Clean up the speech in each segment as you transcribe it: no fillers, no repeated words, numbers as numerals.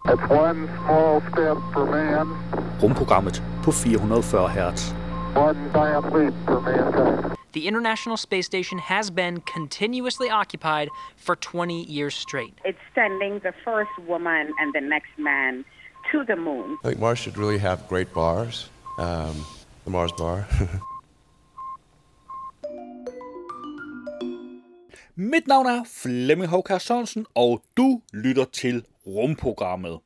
It's one small step for man. Rumprogrammet på 440 Hz. One giant leap for mankind. The International Space Station has been continuously occupied for 20 years straight. It's sending the first woman and the next man to the moon. I think Mars should really have great bars. The Mars bar. Mit navn er Flemming Håkær Sørensen, og du lytter til Rumprogrammet.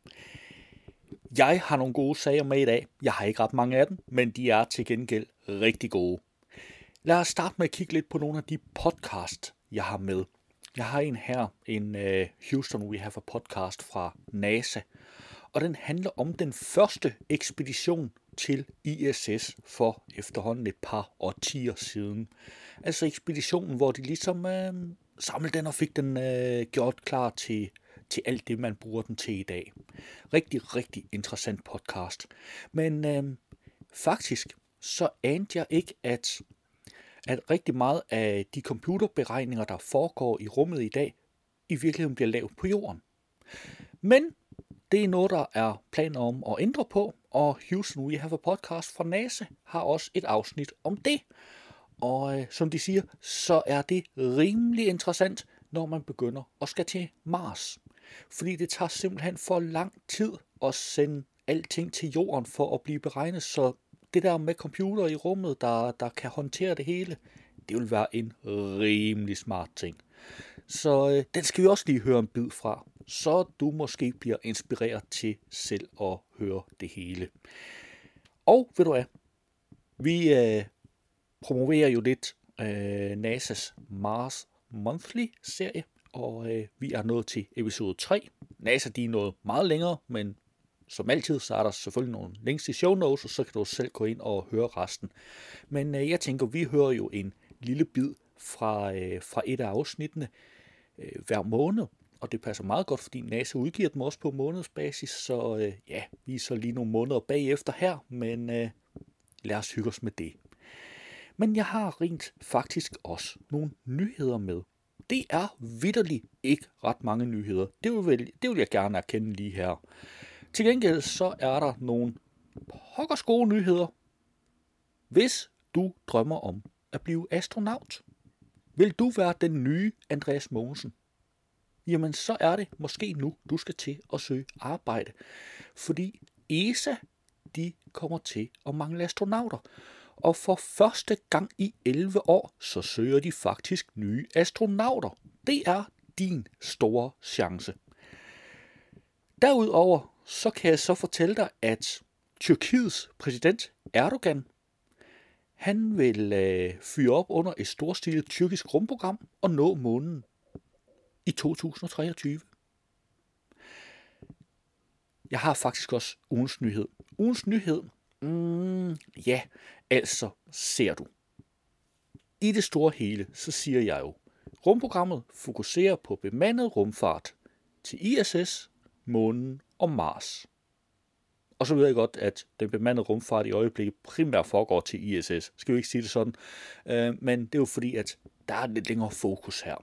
Jeg har nogle gode sager med i dag. Jeg har ikke ret mange af dem, men de er til gengæld rigtig gode. Lad os starte med at kigge lidt på nogle af de podcast, jeg har med. Jeg har en her, en Houston We Have a Podcast fra NASA, og den handler om den første ekspedition til ISS for efterhånden et par årtier siden. Altså ekspeditionen, hvor de ligesom samlede den og fik den gjort klar til alt det, man bruger den til i dag. Rigtig, rigtig interessant podcast. Men faktisk så anede jeg ikke, at rigtig meget af de computerberegninger, der foregår i rummet i dag, i virkeligheden bliver lavet på jorden. Men det er noget, der er planer om at ændre på, og Houston We Have a Podcast fra NASA har også et afsnit om det. Og som de siger, så er det rimelig interessant, når man begynder at skal til Mars. Fordi det tager simpelthen for lang tid at sende alting til jorden for at blive beregnet, så det der med computer i rummet, der kan håndtere det hele, det vil være en rimelig smart ting. Så den skal vi også lige høre en bid fra, så du måske bliver inspireret til selv at høre det hele. Og ved du hvad, vi promoverer jo lidt NASA's Mars Monthly-serie, og vi er nået til episode 3. NASA de er nået meget længere, men som altid, så er der selvfølgelig nogle links i show notes, og så kan du selv gå ind og høre resten. Men jeg tænker, vi hører jo en lille bid fra et af afsnittene hver måned, og det passer meget godt, fordi NASA udgiver dem også på månedsbasis, så vi er så lige nogle måneder bagefter her, men lad os hygge os med det. Men jeg har rent faktisk også nogle nyheder med. Det er vitterligt ikke ret mange nyheder. Det vil jeg gerne erkende lige her. Til gengæld så er der nogle pokkers gode nyheder. Hvis du drømmer om at blive astronaut, vil du være den nye Andreas Mogensen? Jamen så er det måske nu, du skal til at søge arbejde. Fordi ESA, de kommer til at mangle astronauter. Og for første gang i 11 år, så søger de faktisk nye astronauter. Det er din store chance. Derudover så kan jeg så fortælle dig, at Tyrkiets præsident Erdogan, han vil fyre op under et storstilet tyrkisk rumprogram og nå månen i 2023. Jeg har faktisk også ugens nyhed. Ugens nyhed, altså ser du. I det store hele, så siger jeg jo, rumprogrammet fokuserer på bemandet rumfart til ISS, månen og Mars. Og så ved jeg godt, at den bemandede rumfart i øjeblikket primært foregår til ISS. Skal vi ikke sige det sådan? Men det er jo fordi, at der er lidt længere fokus her.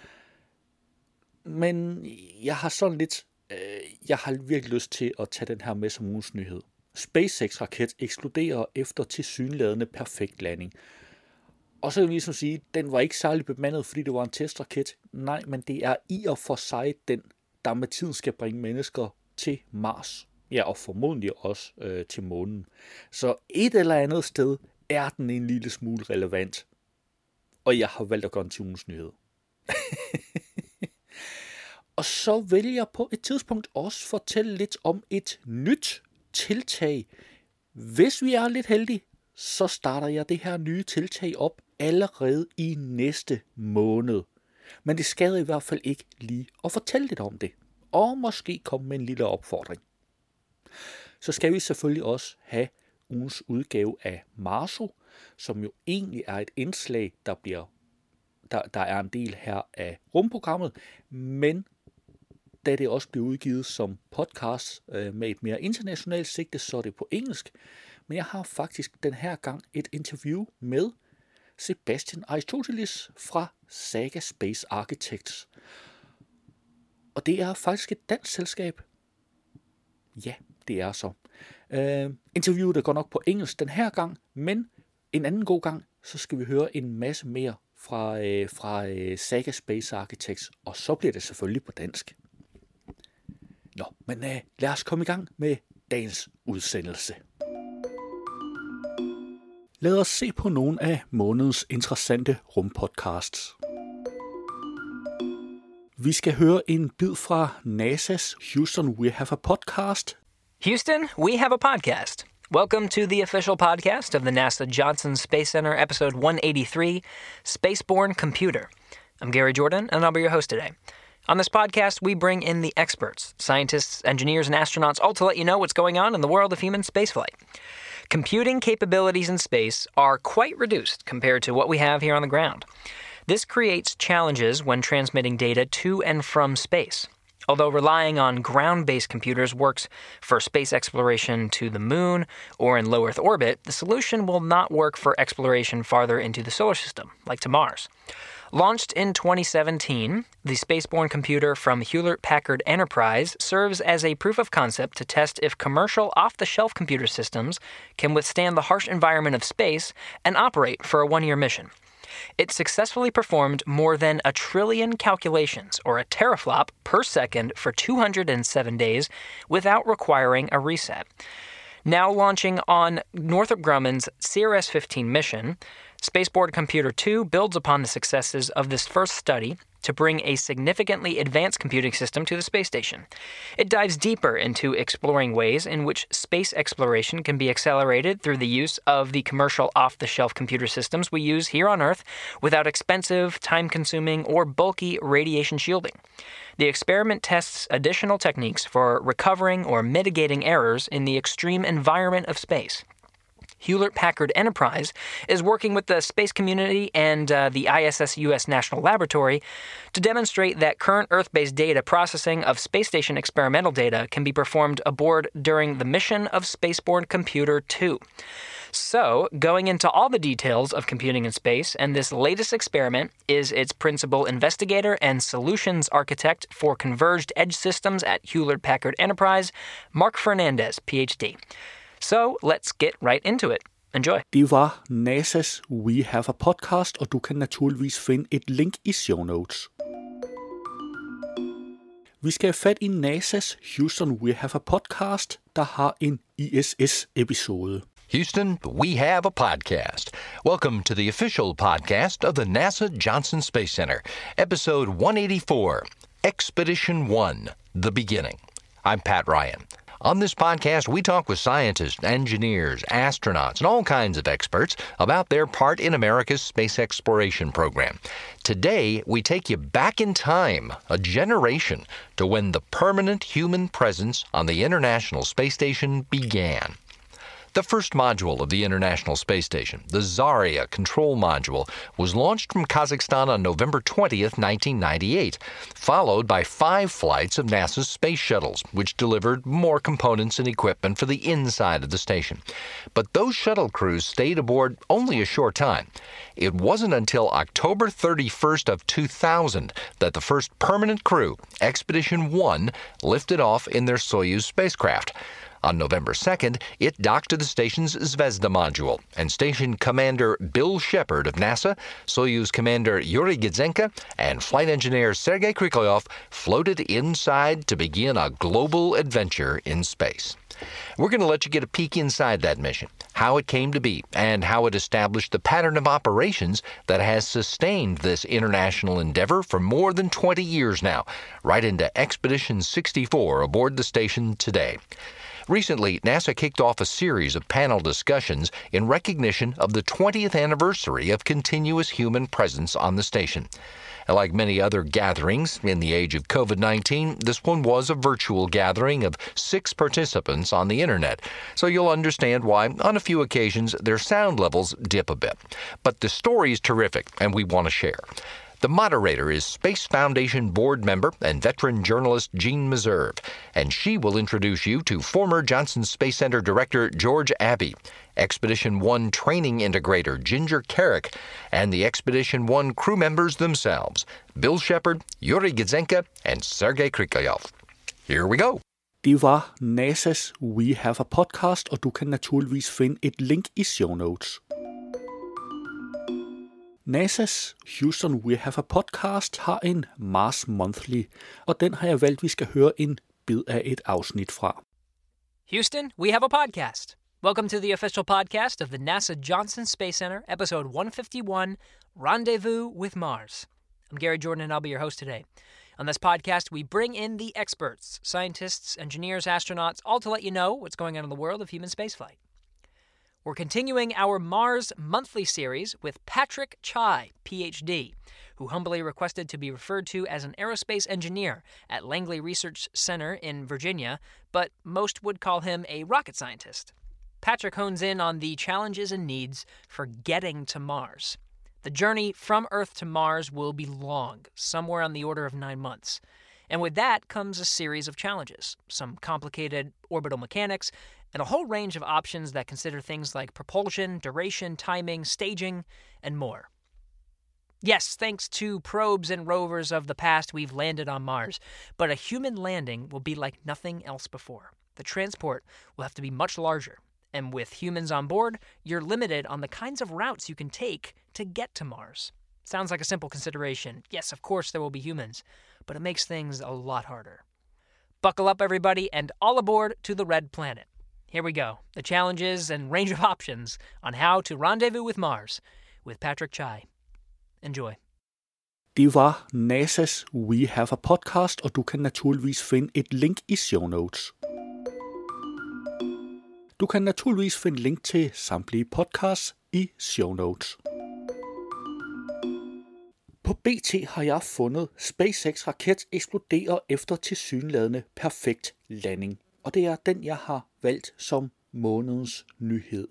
Men jeg har sådan lidt, jeg har virkelig lyst til at tage den her med som ugens nyhed. SpaceX-raket eksploderer efter tilsyneladende perfekt landing. Og så vil jeg ligesom sige, den var ikke særlig bemandet, fordi det var en testraket. Nej, men det er i og for sig den, der med tiden skal bringe mennesker til Mars. Ja, og formodentlig også til månen. Så et eller andet sted er den en lille smule relevant. Og jeg har valgt at gøre en til ugens nyhed. Og så vil jeg på et tidspunkt også fortælle lidt om et nyt tiltag. Hvis vi er lidt heldige, så starter jeg det her nye tiltag op allerede i næste måned. Men det skader i hvert fald ikke lige at fortælle lidt om det. Og måske komme med en lille opfordring. Så skal vi selvfølgelig også have ugens udgave af Marso, som jo egentlig er et indslag, der er en del her af rumprogrammet, men da det også bliver udgivet som podcast med et mere internationalt sigte, så er det på engelsk. Men jeg har faktisk den her gang et interview med Sebastian Aristoteles fra Saga Space Architects. Og det er faktisk et dansk selskab. Ja, det er så. Interviewet er godt nok på engelsk den her gang, men en anden god gang, så skal vi høre en masse mere fra Saga Space Architects, og så bliver det selvfølgelig på dansk. Nå, men lad os komme i gang med dagens udsendelse. Lad os se på nogle af månedens interessante rumpodcasts. Vi skal høre en bid fra NASA's Houston We Have a Podcast. Houston, we have a podcast. Welcome to the official podcast of the NASA Johnson Space Center, episode 183, Spaceborne Computer. I'm Gary Jordan, and I'll be your host today. On this podcast, we bring in the experts, scientists, engineers, and astronauts, all to let you know what's going on in the world of human spaceflight. Computing capabilities in space are quite reduced compared to what we have here on the ground. This creates challenges when transmitting data to and from space. Although relying on ground-based computers works for space exploration to the moon or in low Earth orbit, the solution will not work for exploration farther into the solar system, like to Mars. Launched in 2017, the Spaceborne computer from Hewlett-Packard Enterprise serves as a proof of concept to test if commercial off-the-shelf computer systems can withstand the harsh environment of space and operate for a one-year mission. It successfully performed more than 1 trillion calculations, or a teraflop, per second for 207 days without requiring a reset. Now launching on Northrop Grumman's CRS-15 mission, Spaceborne Computer 2 builds upon the successes of this first study to bring a significantly advanced computing system to the space station. It dives deeper into exploring ways in which space exploration can be accelerated through the use of the commercial off-the-shelf computer systems we use here on Earth without expensive, time-consuming, or bulky radiation shielding. The experiment tests additional techniques for recovering or mitigating errors in the extreme environment of space. Hewlett-Packard Enterprise is working with the space community and the ISS U.S. National Laboratory to demonstrate that current Earth-based data processing of space station experimental data can be performed aboard during the mission of Spaceborne Computer 2. So, going into all the details of computing in space, and this latest experiment is its principal investigator and solutions architect for converged edge systems at Hewlett-Packard Enterprise, Mark Fernandez, Ph.D. So, let's get right into it. Enjoy. Det var NASA's We Have a Podcast, og du kan naturligvis finde et link i show notes. Vi skal have fat i NASA's Houston We Have a Podcast, der har en ISS-episode. Houston, we have a podcast. Welcome to the official podcast of the NASA Johnson Space Center, episode 184, Expedition 1, The Beginning. I'm Pat Ryan. On this podcast, we talk with scientists, engineers, astronauts, and all kinds of experts about their part in America's space exploration program. Today, we take you back in time, a generation, to when the permanent human presence on the International Space Station began. The first module of the International Space Station, the Zarya Control Module, was launched from Kazakhstan on November 20th, 1998, followed by 5 flights of NASA's space shuttles, which delivered more components and equipment for the inside of the station. But those shuttle crews stayed aboard only a short time. It wasn't until October 31st of 2000 that the first permanent crew, Expedition 1, lifted off in their Soyuz spacecraft. On November 2nd, it docked to the station's Zvezda module, and Station Commander Bill Shepard of NASA, Soyuz Commander Yuri Gidzenko, and Flight Engineer Sergei Kriklyov floated inside to begin a global adventure in space. We're going to let you get a peek inside that mission, how it came to be, and how it established the pattern of operations that has sustained this international endeavor for more than 20 years now, right into Expedition 64 aboard the station today. Recently, NASA kicked off a series of panel discussions in recognition of the 20th anniversary of continuous human presence on the station. Like many other gatherings in the age of COVID-19, this one was a virtual gathering of 6 participants on the internet, so you'll understand why, on a few occasions, their sound levels dip a bit. But the story is terrific, and we want to share. The moderator is Space Foundation board member and veteran journalist Jean Meserve, and she will introduce you to former Johnson Space Center Director George Abbey, Expedition 1 training integrator Ginger Carrick, and the Expedition 1 crew members themselves, Bill Shepard, Yuri Gidzenko, and Sergei Kriklyov. Here we go. Det var NASA's We Have a Podcast, og du kan naturligvis finde et link i show notes. NASA's Houston We Have a Podcast har en Mars Monthly, og den har jeg valgt, vi skal høre en bid af et afsnit fra. Houston, we have a podcast. Welcome to the official podcast of the NASA Johnson Space Center, episode 151, Rendezvous with Mars. I'm Gary Jordan, and I'll be your host today. On this podcast, we bring in the experts, scientists, engineers, astronauts, all to let you know what's going on in the world of human spaceflight. We're continuing our Mars Monthly series with Patrick Chai, PhD, who humbly requested to be referred to as an aerospace engineer at Langley Research Center in Virginia, but most would call him a rocket scientist. Patrick hones in on the challenges and needs for getting to Mars. The journey from Earth to Mars will be long, somewhere on the order of 9 months. And with that comes a series of challenges, some complicated orbital mechanics, and a whole range of options that consider things like propulsion, duration, timing, staging, and more. Yes, thanks to probes and rovers of the past, we've landed on Mars, but a human landing will be like nothing else before. The transport will have to be much larger, and with humans on board, you're limited on the kinds of routes you can take to get to Mars. Sounds like a simple consideration. Yes, of course there will be humans, but it makes things a lot harder. Buckle up, everybody, and all aboard to the Red Planet. Here we go, the challenges and range of options on how to rendezvous with Mars with Patrick Chai. Enjoy. Det var NASA's We Have a Podcast, og du kan naturligvis finde et link i show notes. Du kan naturligvis finde link til samtlige podcasts i show notes. På BT har jeg fundet SpaceX raket eksploderer efter tilsyneladende perfekt landing, og det er den, jeg har valgt som månedens nyhed.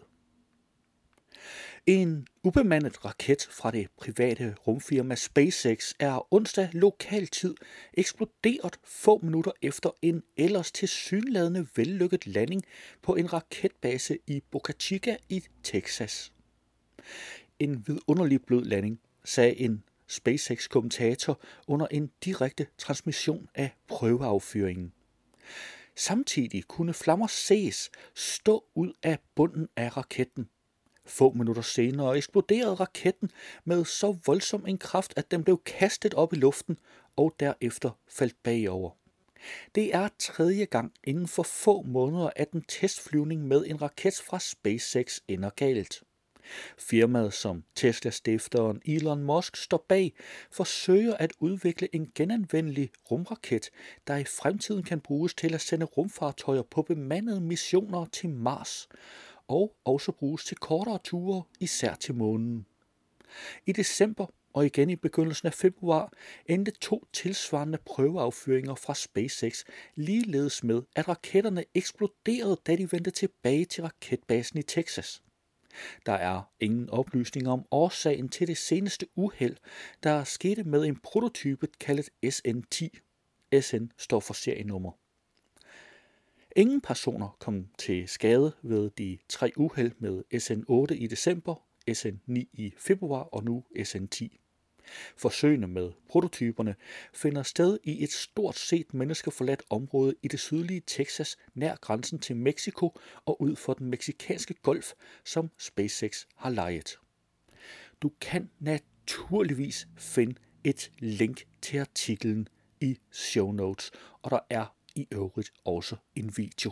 En ubemandet raket fra det private rumfirma SpaceX er onsdag lokal tid eksploderet få minutter efter en ellers tilsyneladende vellykket landing på en raketbase i Boca Chica i Texas. En vidunderlig blød landing, sagde en SpaceX-kommentator under en direkte transmission af prøveaffyringen. Samtidig kunne flammer ses stå ud af bunden af raketten. Få minutter senere eksploderede raketten med så voldsom en kraft, at den blev kastet op i luften og derefter faldt bagover. Det er tredje gang inden for få måneder, at en testflyvning med en raket fra SpaceX ender galt. Firmaet, som Tesla-stifteren Elon Musk står bag, forsøger at udvikle en genanvendelig rumraket, der i fremtiden kan bruges til at sende rumfartøjer på bemandede missioner til Mars, og også bruges til kortere ture, især til månen. I december og igen i begyndelsen af februar endte 2 tilsvarende prøveaffyringer fra SpaceX ligeledes med, at raketterne eksploderede, da de vendte tilbage til raketbasen i Texas. Der er ingen oplysninger om årsagen til det seneste uheld, der skete med en prototype kaldet SN10. SN står for serienummer. Ingen personer kom til skade ved de 3 uheld med SN8 i december, SN9 i februar og nu SN10. Forsøgene med prototyperne finder sted i et stort set menneskeforladt område i det sydlige Texas nær grænsen til Mexico og ud for den meksikanske golf, som SpaceX har lejet. Du kan naturligvis finde et link til artiklen i show notes, og der er i øvrigt også en video.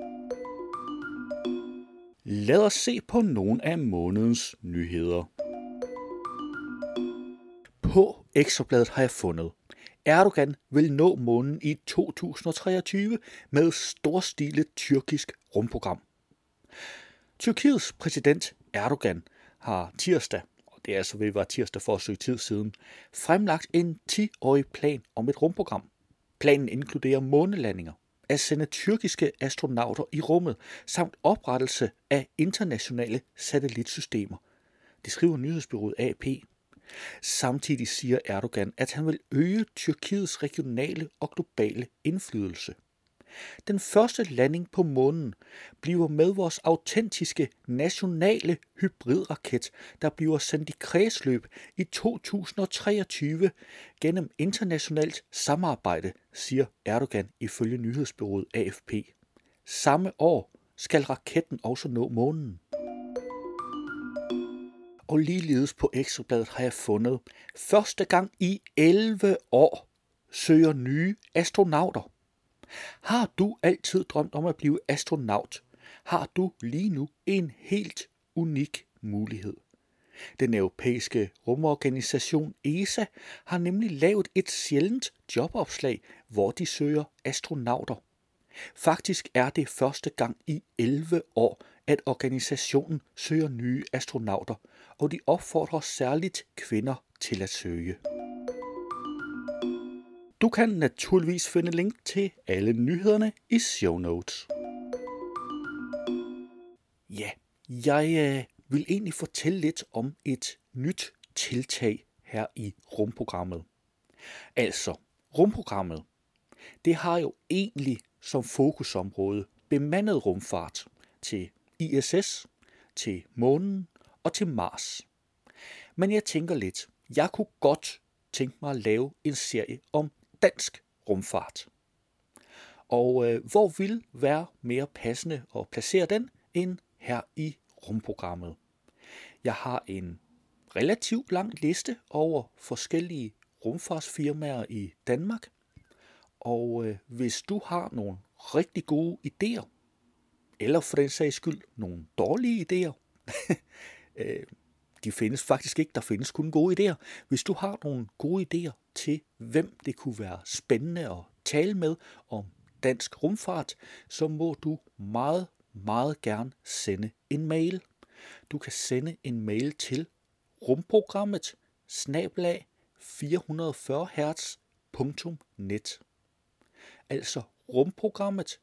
Lad os se på nogle af månedens nyheder. På Ekstrabladet har jeg fundet: Erdogan vil nå månen i 2023 med storstilet tyrkisk rumprogram. Tyrkiets præsident Erdogan har tirsdag, og det er altså ved at være tirsdag for et stykke tid siden, fremlagt en 10-årig plan om et rumprogram. Planen inkluderer månelandinger, at sende tyrkiske astronauter i rummet, samt oprettelse af internationale satellitsystemer. Det skriver nyhedsbureauet AP. Samtidig siger Erdogan, at han vil øge Tyrkiets regionale og globale indflydelse. Den første landing på månen bliver med vores autentiske nationale hybridraket, der bliver sendt i kredsløb i 2023 gennem internationalt samarbejde, siger Erdogan ifølge nyhedsbureauet AFP. Samme år skal raketten også nå månen. Og ligeledes på Ekstrabladet har jeg fundet, første gang i 11 år søger nye astronauter. Har du altid drømt om at blive astronaut, har du lige nu en helt unik mulighed. Den europæiske rumorganisation ESA har nemlig lavet et sjældent jobopslag, hvor de søger astronauter. Faktisk er det første gang i 11 år, at organisationen søger nye astronauter, og de opfordrer særligt kvinder til at søge. Du kan naturligvis finde link til alle nyhederne i show notes. Ja, jeg vil egentlig fortælle lidt om et nyt tiltag her i rumprogrammet. Altså, rumprogrammet, det har jo egentlig som fokusområde bemandet rumfart til ISS, til månen og til Mars. Men jeg tænker lidt, jeg kunne godt tænke mig at lave en serie om dansk rumfart. Og hvor vil være mere passende at placere den end her i rumprogrammet? Jeg har en relativt lang liste over forskellige rumfartsfirmaer i Danmark. Og hvis du har nogle rigtig gode idéer, eller for den sags skyld nogle dårlige idéer, de findes faktisk ikke, der findes kun gode idéer. Hvis du har nogle gode idéer til, hvem det kunne være spændende at tale med om dansk rumfart, så må du meget, meget gerne sende en mail. Du kan sende en mail til rumprogrammet @440hz.net. Altså rumprogrammet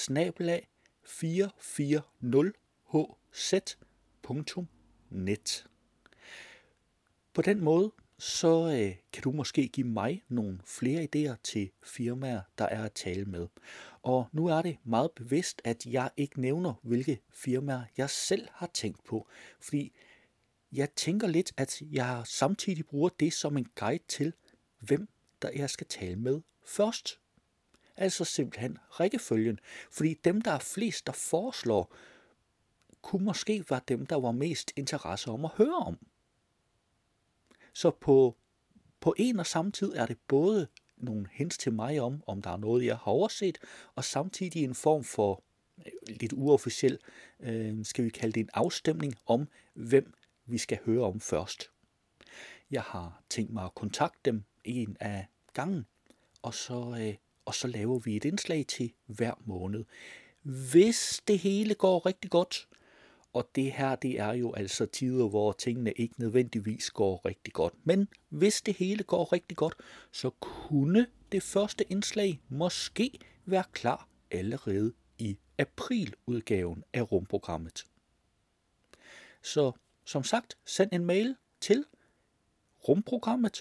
@440hz.net. På den måde, så kan du måske give mig nogle flere idéer til firmaer, der er at tale med. Og nu er det meget bevidst, at jeg ikke nævner, hvilke firmaer jeg selv har tænkt på. Fordi jeg tænker lidt, at jeg samtidig bruger det som en guide til, hvem der jeg skal tale med først. Altså simpelthen rækkefølgen. Fordi dem, der er flest, der foreslår, kunne måske være dem, der var mest interesse om at høre om. Så på en og samme tid er det både nogle hints til mig om der er noget, jeg har overset, og samtidig en form for lidt uofficiel, skal vi kalde det en afstemning om, hvem vi skal høre om først. Jeg har tænkt mig at kontakte dem en af gangen, og så laver vi et indslag til hver måned. Hvis det hele går rigtig godt, og det her, det er jo altså tider, hvor tingene ikke nødvendigvis går rigtig godt. Men hvis det hele går rigtig godt, så kunne det første indslag måske være klar allerede i apriludgaven af rumprogrammet. Så som sagt, send en mail til rumprogrammet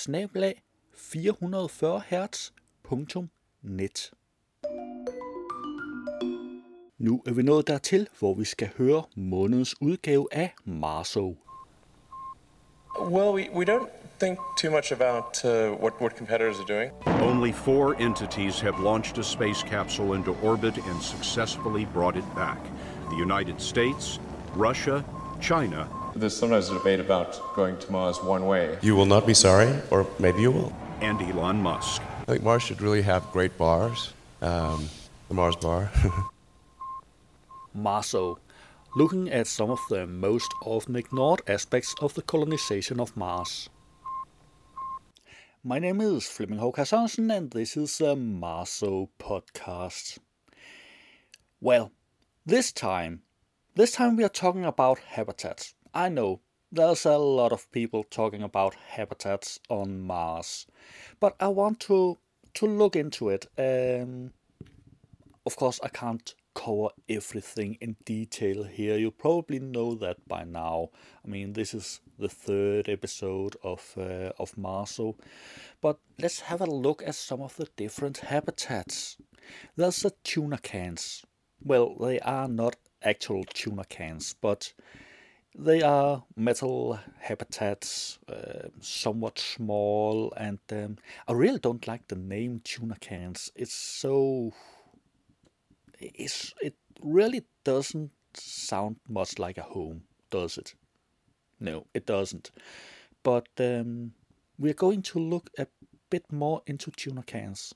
@440hz.net. Nu er vi nået dertil, hvor vi skal høre månedens udgave af Marso. Well, we don't think too much about what competitors are doing. Only 4 entities have launched a space capsule into orbit and successfully brought it back. The United States, Russia, China. There's sometimes a debate about going to Mars one way. You will not be sorry, or maybe you will. And Elon Musk. I think Mars should really have great bars. The Mars bar. Marso, looking at some of the most often ignored aspects of the colonization of Mars. My name is Flemming Håkær Sørensen, and this is a Marso podcast. Well, this time we are talking about habitats. I know, there's a lot of people talking about habitats on Mars, but I want to look into it. Of course, I can't cover everything in detail here. You probably know that by now. I mean, this is the 3rd episode of Marso. But let's have a look at some of the different habitats. There's the tuna cans. Well, they are not actual tuna cans, but they are metal habitats, somewhat small, and I really don't like the name tuna cans. It really doesn't sound much like a home, does it? No, it doesn't. But we're going to look a bit more into tuna cans.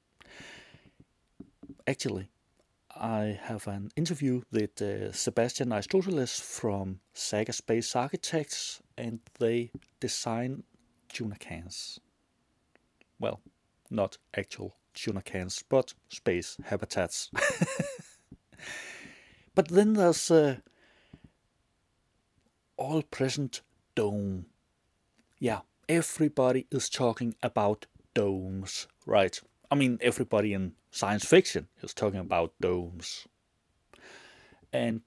Actually, I have an interview with Sebastian Aristoteles from Saga Space Architects, and they design tuna cans. Well, not actual tuna cans, but space habitats. But then there's all-present dome. Yeah, everybody is talking about domes, right? I mean, everybody in science fiction is talking about domes. And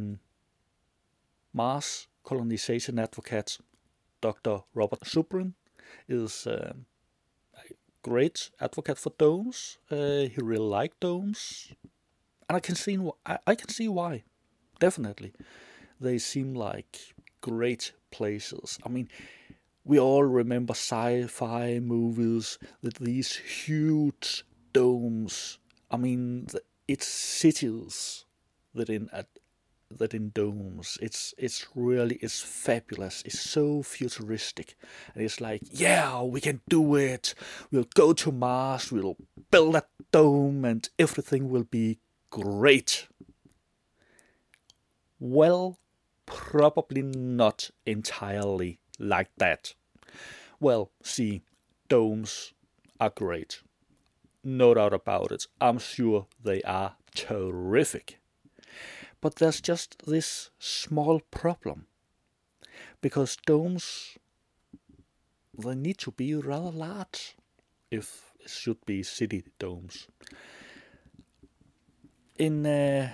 Mars colonization advocate Dr. Robert Zubrin is a great advocate for domes. He really likes domes, and I can see why. Definitely, they seem like great places. I mean, we all remember sci-fi movies with these huge domes. I mean, it's cities that in domes. It's fabulous. It's so futuristic, and it's like, yeah, we can do it. We'll go to Mars. We'll build a dome, and everything will be great. Well, probably not entirely like that. Well, see, domes are great. No doubt about it. I'm sure they are terrific. But there's just this small problem. Because domes, they need to be rather large if it should be city domes. In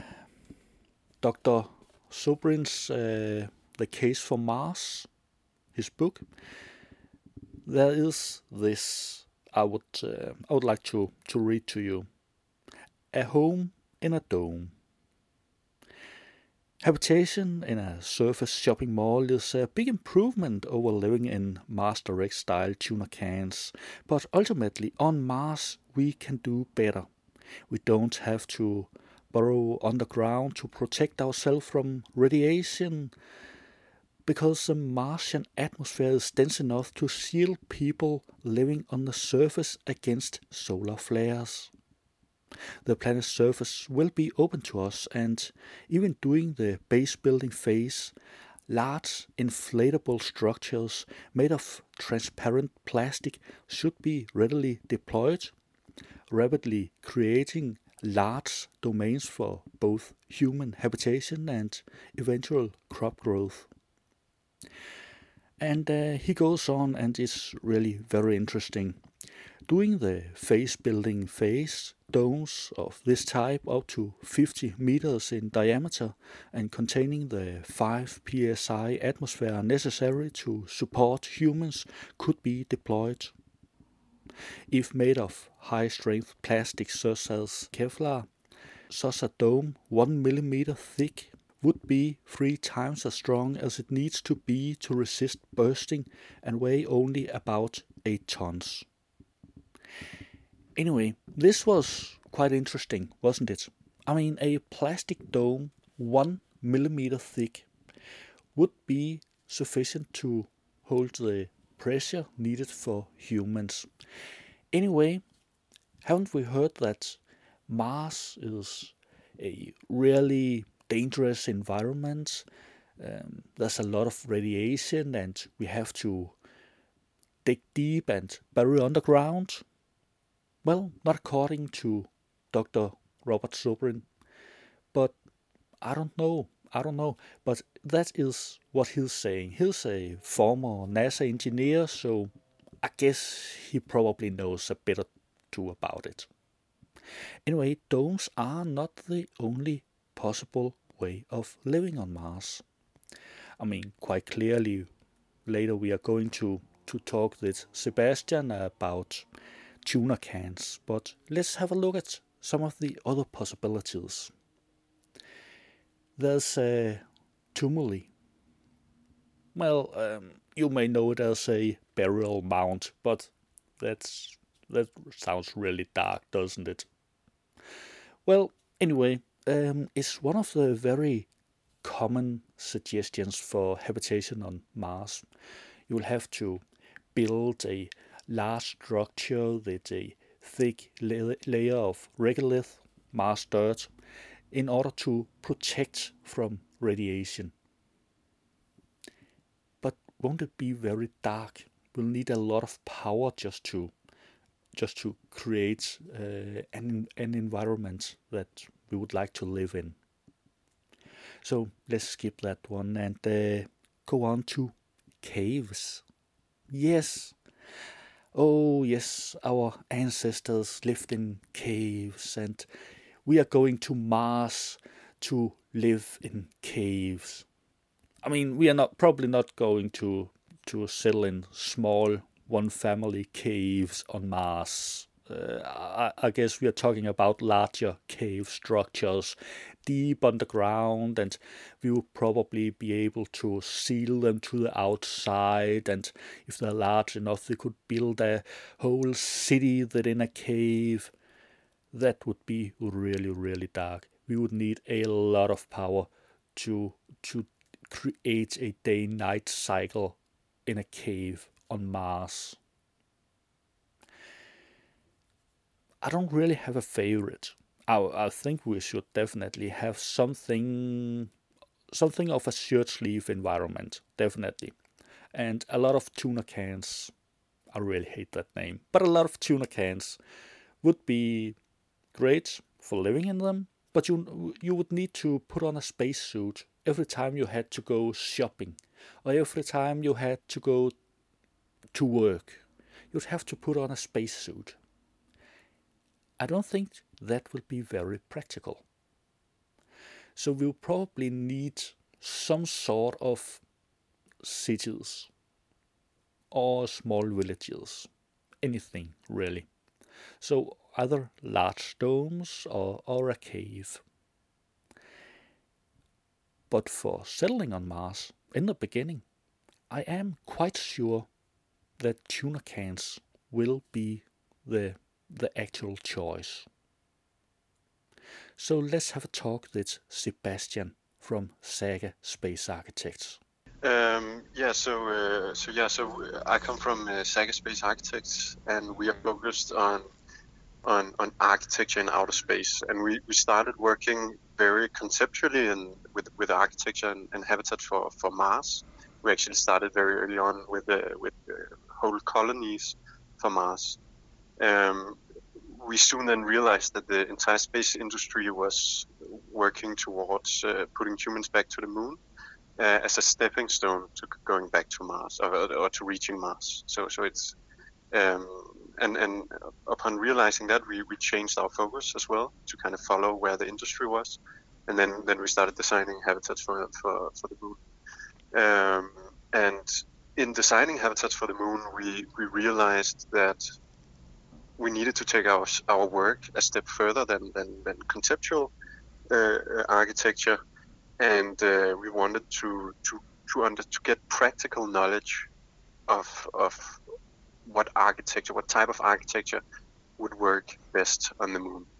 Dr. Zubrin's The Case for Mars, his book, there is this I would like to read to you. A home in a dome. Habitation in a surface shopping mall is a big improvement over living in Mars Direct style tuna cans, but ultimately on Mars we can do better. We don't have to burrow underground to protect ourselves from radiation, because the Martian atmosphere is dense enough to shield people living on the surface against solar flares. The planet's surface will be open to us, and even during the base building phase, large inflatable structures made of transparent plastic should be readily deployed, rapidly creating large domains for both human habitation and eventual crop growth. And he goes on, and it's really very interesting. During the phase building phase, domes of this type up to 50 meters in diameter and containing the 5 psi atmosphere necessary to support humans could be deployed. If made of high-strength plastic such as Kevlar, such a dome 1 millimeter thick would be 3 times as strong as it needs to be to resist bursting and weigh only about 8 tons. Anyway, this was quite interesting, wasn't it? I mean, a plastic dome 1 millimeter thick would be sufficient to hold the pressure needed for humans. Anyway, haven't we heard that Mars is a really dangerous environment? There's a lot of radiation, and we have to dig deep and bury underground. Well, not according to Dr. Robert Zubrin, but I don't know. But that is what he's saying. He's a former NASA engineer, so I guess he probably knows a bit or two about it. Anyway, domes are not the only possible way of living on Mars. I mean, quite clearly, later we are going to talk with Sebastian about tuna cans, but let's have a look at some of the other possibilities. There's tumuli. Well, you may know it as a burial mound, but that sounds really dark, doesn't it? Well, anyway, it's one of the very common suggestions for habitation on Mars. You will have to build a large structure with a thick layer of regolith, Mars dirt, in order to protect from radiation. But won't it be very dark? We'll need a lot of power just to create an environment that we would like to live in. So let's skip that one and go on to caves. Yes. Oh yes, our ancestors lived in caves, and we are going to Mars to live in caves. I mean, we are probably not going to settle in small one-family caves on Mars. I guess we are talking about larger cave structures deep underground, and we will probably be able to seal them to the outside, and if they're large enough they could build a whole city within a cave. That would be really, really dark. We would need a lot of power to create a day-night cycle in a cave on Mars. I don't really have a favorite. I think we should definitely have something of a shirt sleeve environment, definitely. And a lot of tuna cans. I really hate that name. But a lot of tuna cans would be great for living in them, but you would need to put on a spacesuit every time you had to go shopping, or every time you had to go to work. You'd have to put on a spacesuit. I don't think that will be very practical. So we'll probably need some sort of cities or small villages, anything really. So either large domes or a cave. But for settling on Mars, in the beginning, I am quite sure that tuna cans will be the actual choice. So let's have a talk with Sebastian from Saga Space Architects. So I come from Saga Space Architects, and we are focused on architecture in outer space. And we started working very conceptually and with architecture and habitat for Mars. We actually started very early on with whole colonies for Mars. We soon then realized that the entire space industry was working towards putting humans back to the moon as a stepping stone to going back to Mars or to reaching Mars. So it's and upon realizing that, we changed our focus as well to kind of follow where the industry was, and then we started designing habitats for the moon. And in designing habitats for the moon, we realized that we needed to take our work a step further than conceptual architecture, and we wanted to get practical knowledge of what type of architecture would work best on the moon.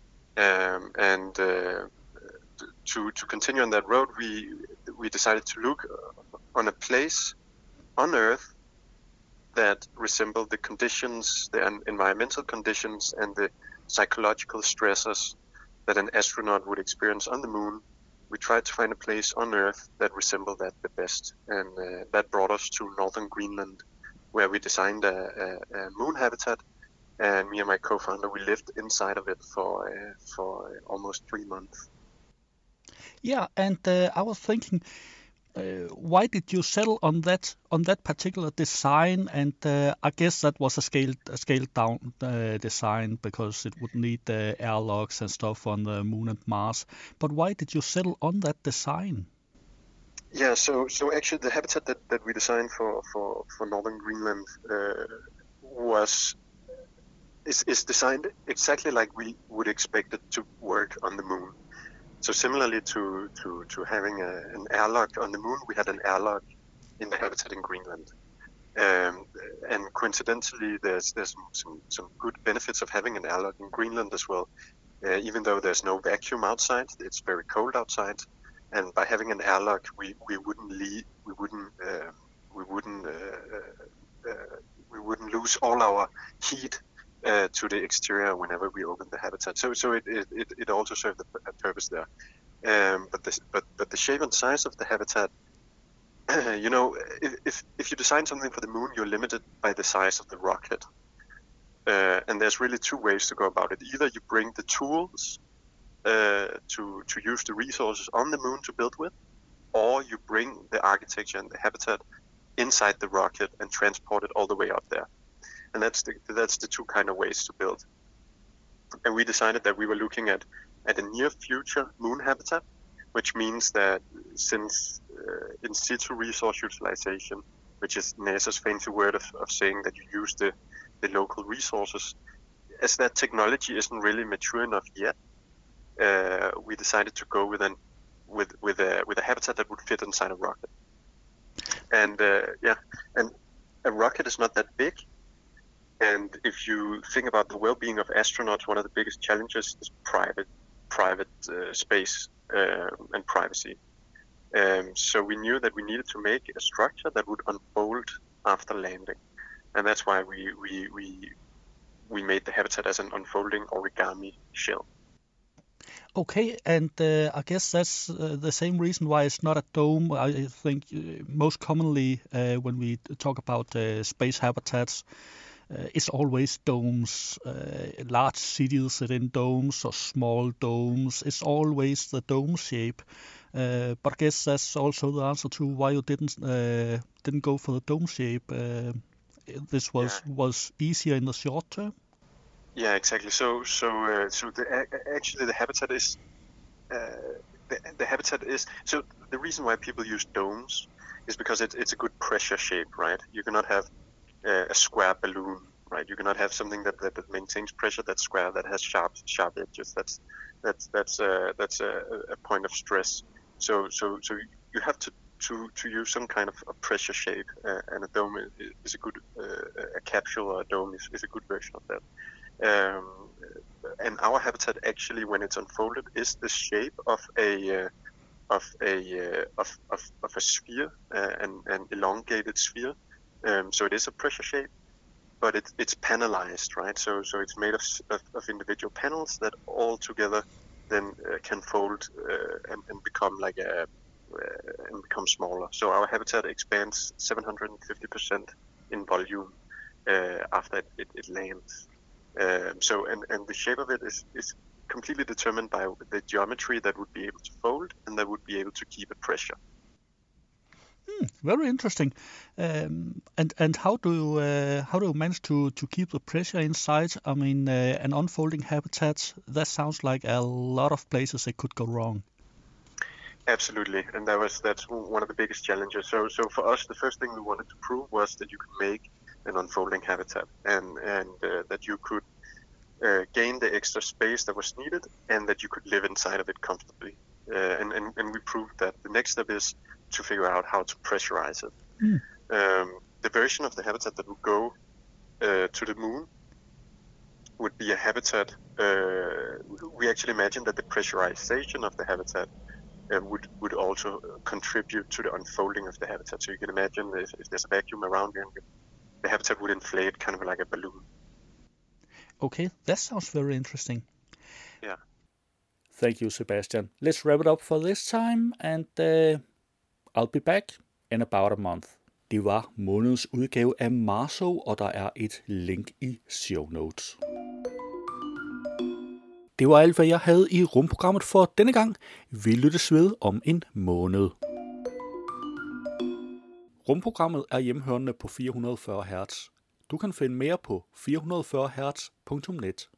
To continue on that road, we decided to look on a place on Earth that resembled the conditions, the environmental conditions, and the psychological stressors that an astronaut would experience on the moon. We tried to find a place on Earth that resembled that the best, and that brought us to northern Greenland, where we designed a moon habitat, and me and my co-founder, we lived inside of it for almost 3 months. Yeah, and I was thinking, why did you settle on that particular design? And I guess that was a scaled down design because it would need airlocks and stuff on the moon and Mars. But why did you settle on that design? Yeah, so actually the habitat that we designed for northern Greenland was is designed exactly like we would expect it to work on the moon. So similarly to having an airlock on the moon, we had an airlock in the habitat in Greenland. And coincidentally, there's some good benefits of having an airlock in Greenland as well. Even though there's no vacuum outside, it's very cold outside, and by having an airlock, we wouldn't lose all our heat to the exterior whenever we open the habitat. So it also served a purpose there. But the shape and size of the habitat, if you design something for the moon, you're limited by the size of the rocket. And there's really two ways to go about it. Either you bring the tools to use the resources on the moon to build with, or you bring the architecture and the habitat inside the rocket and transport it all the way up there. And that's the two kind of ways to build. And we decided that we were looking at a near future moon habitat, which means that since in situ resource utilization, which is NASA's fancy word of saying that you use the local resources, as that technology isn't really mature enough yet, we decided to go with a habitat that would fit inside a rocket. And and a rocket is not that big. And if you think about the well-being of astronauts, one of the biggest challenges is private space and privacy. So we knew that we needed to make a structure that would unfold after landing, and that's why we made the habitat as an unfolding origami shell. Okay, and I guess that's the same reason why it's not a dome. I think most commonly when we talk about space habitats, it's always domes, large cities sit in domes or small domes. It's always the dome shape. But I guess that's also the answer to why you didn't go for the dome shape. This was easier in the short term. Yeah, exactly. So actually the habitat is the habitat is so the reason why people use domes is because it's a good pressure shape, right? You cannot have a square balloon, right? You cannot have something that maintains pressure that's square, that has sharp edges. That's a point of stress. So you have to use some kind of a pressure shape, and a dome is a good a capsule or a dome is a good version of that. And our habitat actually, when it's unfolded, is the shape of a sphere, an elongated sphere. So it is a pressure shape, but it's panelized, right? So it's made of individual panels that all together then can fold and become like and become smaller. So our habitat expands 750% in volume after it lands. So the shape of it is completely determined by the geometry that would be able to fold and that would be able to keep a pressure. Very interesting. And how do you manage to keep the pressure inside? I mean, an unfolding habitat, that sounds like a lot of places it could go wrong. Absolutely, and that's one of the biggest challenges. So for us, the first thing we wanted to prove was that you could make an unfolding habitat, and that you could gain the extra space that was needed, and that you could live inside of it comfortably. And we proved that. The next step is to figure out how to pressurize it. The version of the habitat that would go to the moon would be a habitat. We actually imagined that the pressurization of the habitat would also contribute to the unfolding of the habitat. So you can imagine if there's a vacuum around you, the habitat would inflate kind of like a balloon. Okay, that sounds very interesting. Yeah. Thank you, Sebastian. Let's wrap it up for this time, and I'll be back in about a month. Det var månedens udgave af Marso, og der er et link i show notes. Det var alt, hvad jeg havde i rumprogrammet for denne gang. Vi lyttes ved om en måned. Rumprogrammet er hjemhørende på 440 Hz. Du kan finde mere på 440hz.net.